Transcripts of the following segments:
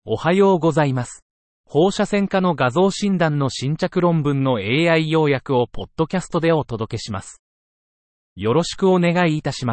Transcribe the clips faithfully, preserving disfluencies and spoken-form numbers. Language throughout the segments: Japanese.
おはようございます。放射線科の画像診断の新着論文の エーアイ 要約をポッドキャストでお届けします。よろしくお願いいたします。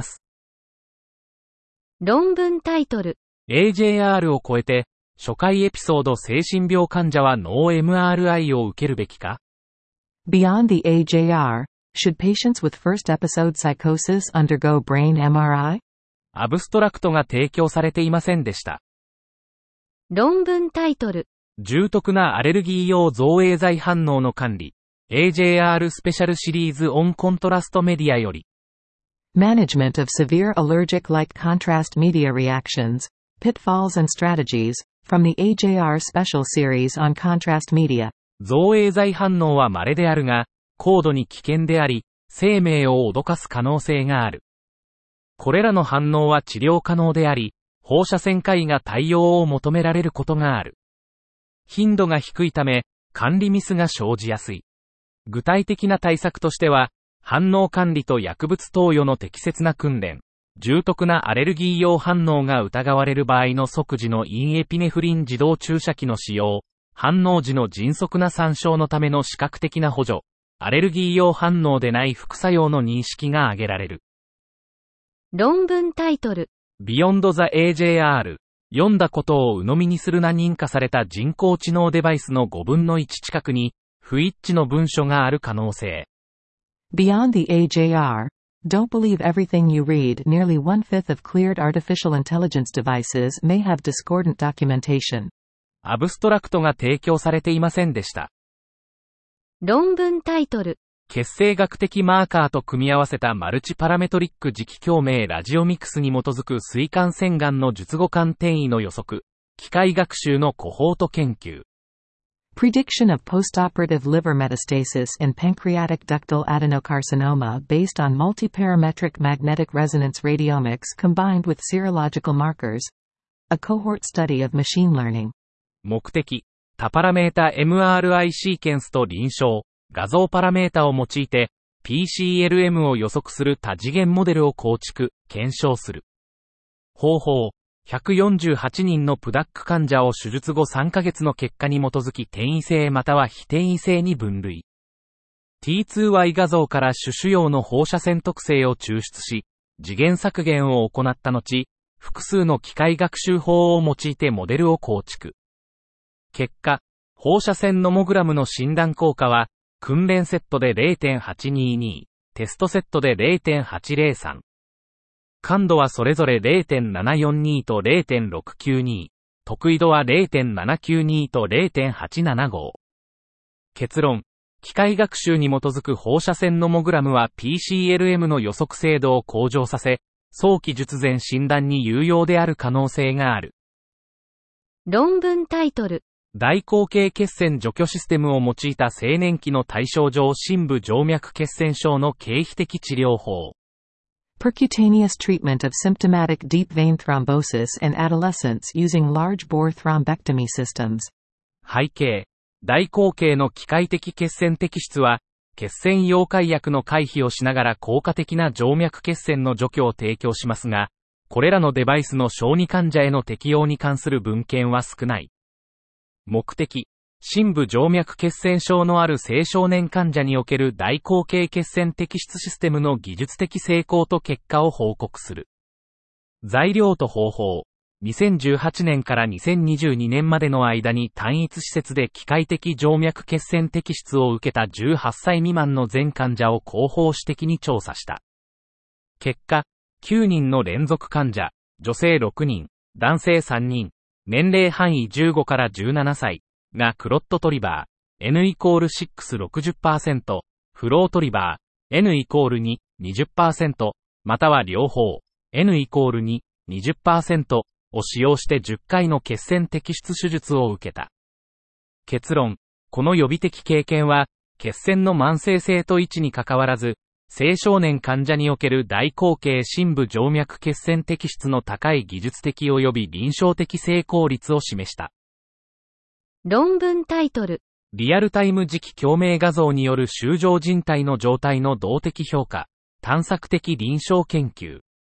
論文タイトル。 エージェーアール を超えて、初回エピソード精神病患者は脳 エムアールアイ を受けるべきか？ Beyond the エージェーアール, should patients with first episode psychosis undergo brain エムアールアイ? アブストラクトが提供されていませんでした。 論文タイトル。 重篤なアレルギー用造影剤反応の管理。エージェーアール スペシャルシリーズオンコントラストメディアより。 Management of severe allergic light contrast media reactions, pitfalls and strategies, from the エージェーアール Special Series on Contrast Media. 造影剤反応は稀であるが、高度に危険であり、生命を脅かす可能性がある。これらの反応は治療可能であり、放射線科医が対応を求められることがある。頻度が低いため、管理ミスが生じやすい。具体的な対策としては、反応管理と薬物投与の適切な訓練、重篤なアレルギー用反応が疑われる場合の即時のインエピネフリン自動注射器の使用、反応時の迅速な参照のための視覚的な補助、アレルギー用反応でない副作用の認識が挙げられる。 論文タイトル。 Beyond the エージェーアール、読んだことを鵜呑みにするな認可された人工知能デバイスのごぶんのいち近くに、不一致の文書がある可能性。 Beyond the エージェーアール, don't believe everything you read. Nearly one-fifth of cleared artificial intelligence devices may have discordant documentation. アブストラクトが提供されていませんでした。 論文タイトル。 血清学的マーカーと組み合わせたマルチパラメトリック磁気共鳴ラジオミクスに基づく膵管腺がんの術後間転移の予測、機械学習のコホート研究。 Prediction of postoperative liver metastasis in pancreatic ductal adenocarcinoma based on multiparametric magnetic resonance radiomics combined with serological markers. A cohort study of machine learning. 目的、多パラメータ エムアールアイ シーケンスと臨床、画像パラメータを用いて ピーシーエルエム を予測する多次元モデルを構築、検証する。方法、ひゃくよんじゅうはちにんのプダック患者を手術後さんかげつの結果に基づき転移性または非転移性に分類。ティーツーワイ 画像から種子葉の放射線特性を抽出し、次元削減を行った後、複数の機械学習法を用いてモデルを構築。結果、放射線ノモグラムの診断効果は、訓練セットで ゼロてんはちにーにー、テストセットで ゼロてんはちゼロさん。感度はそれぞれ ゼロてんななよんにー と ゼロてんろくきゅうにー、得意度は ゼロてんななきゅうにー と ゼロてんはちななご。結論、機械学習に基づく放射線ノモグラムは ピーシーエルエム の予測精度を向上させ、早期術前診断に有用である可能性がある。 論文タイトル。 大口径血栓除去システムを用いた青年期の対象上深部静脈血栓症の経皮的治療法。 Percutaneous treatment of symptomatic deep vein thrombosis in adolescents using large bore thrombectomy systems. 背景、大口径の機械的血栓摘出は、血栓溶解薬の回避をしながら効果的な静脈血栓の除去を提供しますが、これらのデバイスの小児患者への適用に関する文献は少ない。目的、深部静脈血栓症のある青少年患者における大口径血栓摘出システムの技術的成功と結果を報告する。材料と方法、にせんじゅうはちねんからにせんにじゅうにねんまでの間に単一施設で機械的静脈血栓摘出を受けたじゅうはっさい未満の全患者を広報主的に調査した。結果、きゅうにんの連続患者、女性ろくにん、男性さんにん、年齢範囲じゅうごからじゅうななさいがクロットトリバー N イコールろく ろくじゅっパーセント、フロートリバー N イコールに にじゅっパーセント、または両方 N イコールに にじゅっパーセント を使用してじゅっかいの血栓摘出手術を受けた。結論、この予備的経験は血栓の慢性性と位置に関わらず、青少年患者における大口径深部静脈血栓摘出の高い技術的及び臨床的成功率を示した。 論文タイトル。 リアルタイム磁気共鳴画像による周状靭帯の状態の動的評価、探索的臨床研究。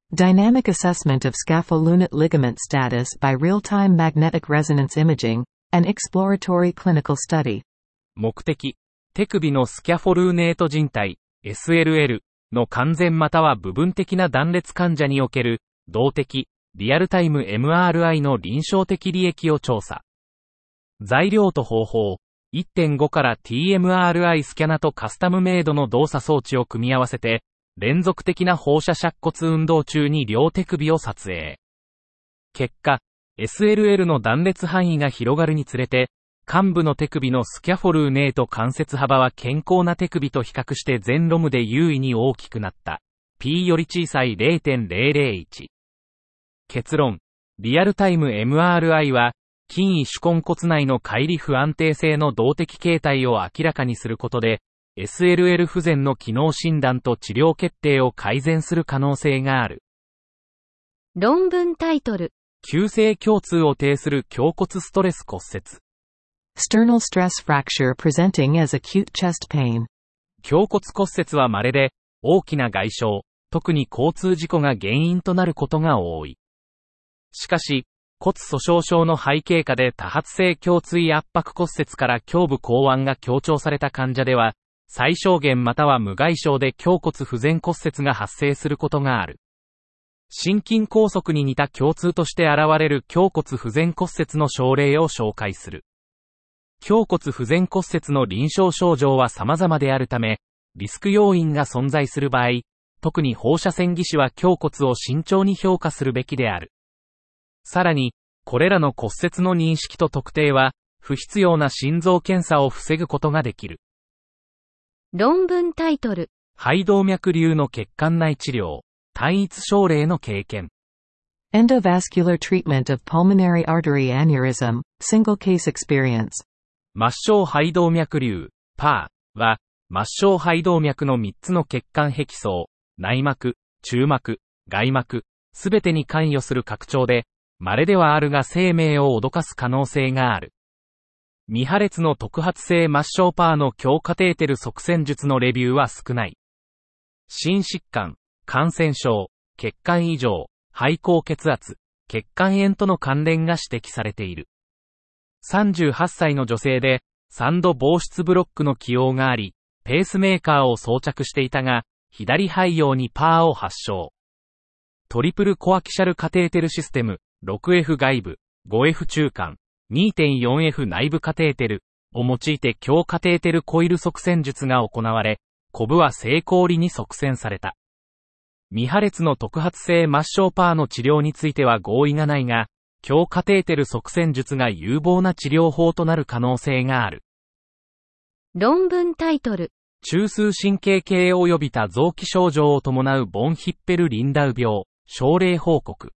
Dynamic assessment of scapholunate ligament status by real-time magnetic resonance imaging, an exploratory clinical study. 目的、手首のスキャフォルーネート靭帯、エスエルエル の完全または部分的な断裂患者における、動的、リアルタイム エムアールアイ の臨床的利益を調査。材料と方法、いってんご から ティーエムアールアイ スキャナとカスタムメイドの動作装置を組み合わせて、連続的な放射尺骨運動中に両手首を撮影。結果、エスエルエル の断裂範囲が広がるにつれて、患部の手首のスキャフォルーネート関節幅は健康な手首と比較して全ロムで優位に大きくなった。P より小さい ゼロてんゼロゼロいち。結論。リアルタイム エムアールアイ は、筋位手根骨内の乖離不安定性の動的形態を明らかにすることで、エスエルエル 不全の機能診断と治療決定を改善する可能性がある。 論文タイトル。 急性胸痛を呈する胸骨ストレス骨折。 Sternal stress fracture presenting as acute chest pain. 胸骨骨折は稀で、大きな外傷、特に交通事故が原因となることが多い。しかし、骨粗鬆症の背景下で多発性胸椎圧迫骨折から胸部後腕が強調された患者では、最小限または無外傷で胸骨不全骨折が発生することがある。心筋梗塞に似た胸痛として現れる胸骨不全骨折の症例を紹介する。胸骨不全骨折の臨床症状は様々であるため、リスク要因が存在する場合、特に放射線技師は胸骨を慎重に評価するべきである。さらに、これらの骨折の認識と特定は、不必要な心臓検査を防ぐことができる。 論文タイトル。 肺動脈瘤の血管内治療、単一症例の経験。 Endovascular treatment of pulmonary artery aneurysm, single case experience. 末梢肺動脈瘤、パー は、末梢肺動脈のみっつの血管壁層、内膜、中膜、外膜、すべてに関与する拡張で、稀ではあるが生命を脅かす可能性がある。未破裂の特発性末梢パーの強カテーテル塞栓術のレビューは少ない。心疾患、感染症、血管異常、肺高血圧、血管炎との関連が指摘されている。さんじゅうはっさいの女性で、三度防湿ブロックの起用があり、ペースメーカーを装着していたが、左肺葉にパーを発症。トリプルコアキシャルカテーテルシステム、ろくエフ 外部、ごエフ 中間、にてんよんエフ 内部カテーテルを用いて強カテーテルコイル塞栓術が行われ、コブは成功裏に塞栓された。未破裂の特発性末梢パーの治療については合意がないが、強カテーテル塞栓術が有望な治療法となる可能性がある。 論文タイトル。 中枢神経系及び多臓器症状を伴うボンヒッペルリンダウ病、症例報告。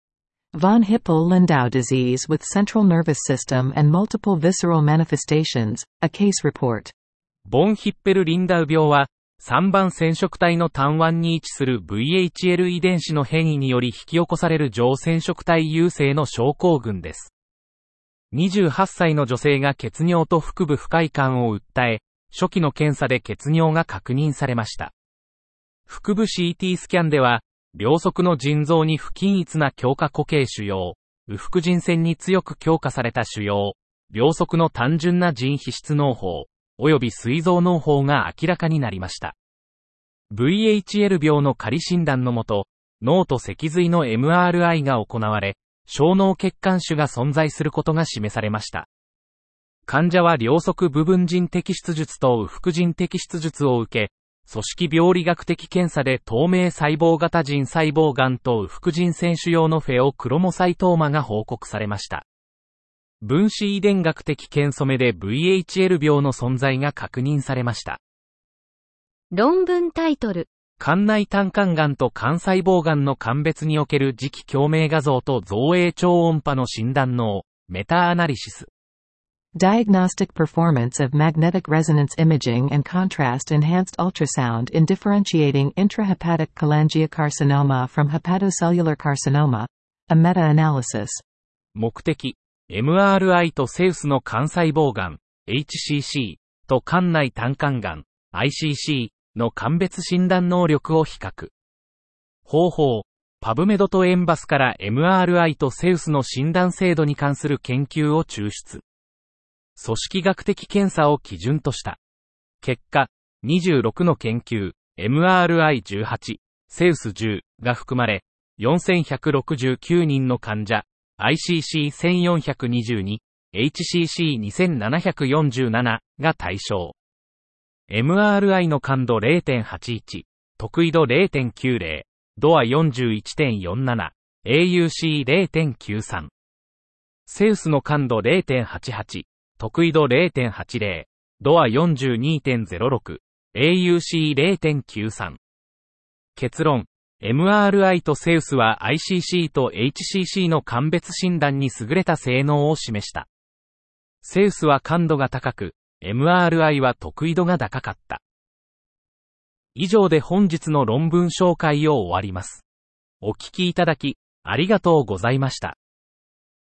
Von Hippel-Lindau disease with central nervous system and multiple visceral manifestations, a case report. ボンヒッペルリンダウ病は、さんばん染色体の単腕に位置する ブイエイチエル 遺伝子の変異により引き起こされる上染色体優勢の症候群です。にじゅうはっさいの女性が血尿と腹部不快感を訴え、初期の検査で血尿が確認されました。腹部 シーティー スキャンでは、両側の腎臓に不均一な強化固形腫瘍、右腹腎腺に強く強化された腫瘍、両側の単純な腎皮質嚢胞、及び膵臓嚢胞が明らかになりました。ブイエイチエル 病の仮診断のもと、脳と脊髄の エムアールアイ が行われ、小脳血管腫が存在することが示されました。患者は両側部分腎摘出術と右腹腎摘出術を受け、組織病理学的検査で透明細胞型腎細胞がんと右腹腎腺腫瘍のフェオクロモサイトーマが報告されました。分子遺伝学的検査目で ブイエイチエル 病の存在が確認されました。 論文タイトル。 肝内胆管がんと肝細胞がんの鑑別における磁気共鳴画像と造影超音波の診断能、メタアナリシス。 Diagnostic performance of magnetic resonance imaging and contrast-enhanced ultrasound in differentiating intrahepatic cholangiocarcinoma from hepatocellular carcinoma, a meta-analysis. 目的、エムアールアイ とセウスの肝細胞がん、エイチシーシー と肝内胆管がん、アイシーシー の鑑別診断能力を比較。方法、 パブメドとエンバスから エムアールアイ とセウスの診断精度に関する研究を抽出。組織学的検査を基準とした。結果、にじゅうろくの研究、エムアールアイじゅうはち、セウスじゅうが含まれ、よんせんひゃくろくじゅうきゅうにんの患者、アイシーシーせんよんひゃくにじゅうに、エイチシーシーにせんななひゃくよんじゅうなな が対象。エムアールアイ の感度 れいてんはちいち、得意度 れいてんきゅうぜろ、ドア よんじゅういちてんよんなな、エーユーシーれいてんきゅうさん。セウスの感度 れいてんはちはち、得意度 れいてんはちぜろ、ドア よんじゅうにてんぜろろく、エーユーシーれいてんきゅうさん。結論、エムアールアイ とセウスは アイシーシー と エイチシーシー の鑑別診断に優れた性能を示した。セウスは感度が高く、エムアールアイ は得意度が高かった。以上で本日の論文紹介を終わります。お聞きいただき、ありがとうございました。